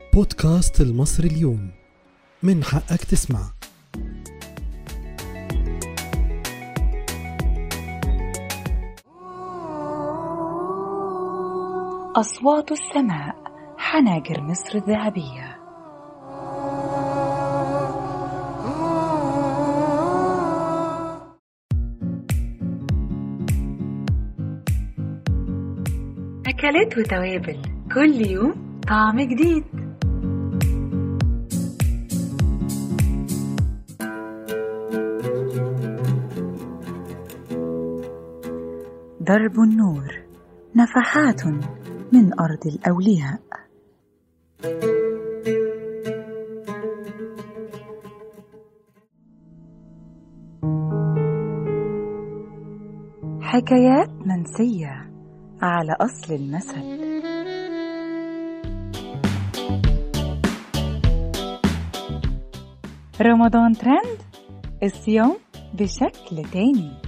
بودكاست المصري اليوم، من حقك تسمع. أصوات السماء، حناجر مصر الذهبية. أكلات وتوابل، كل يوم طعم جديد. درب النور، نفحات من أرض الأولياء. حكايات منسية على أصل المثل. رمضان ترند، الصيام بشكل تاني.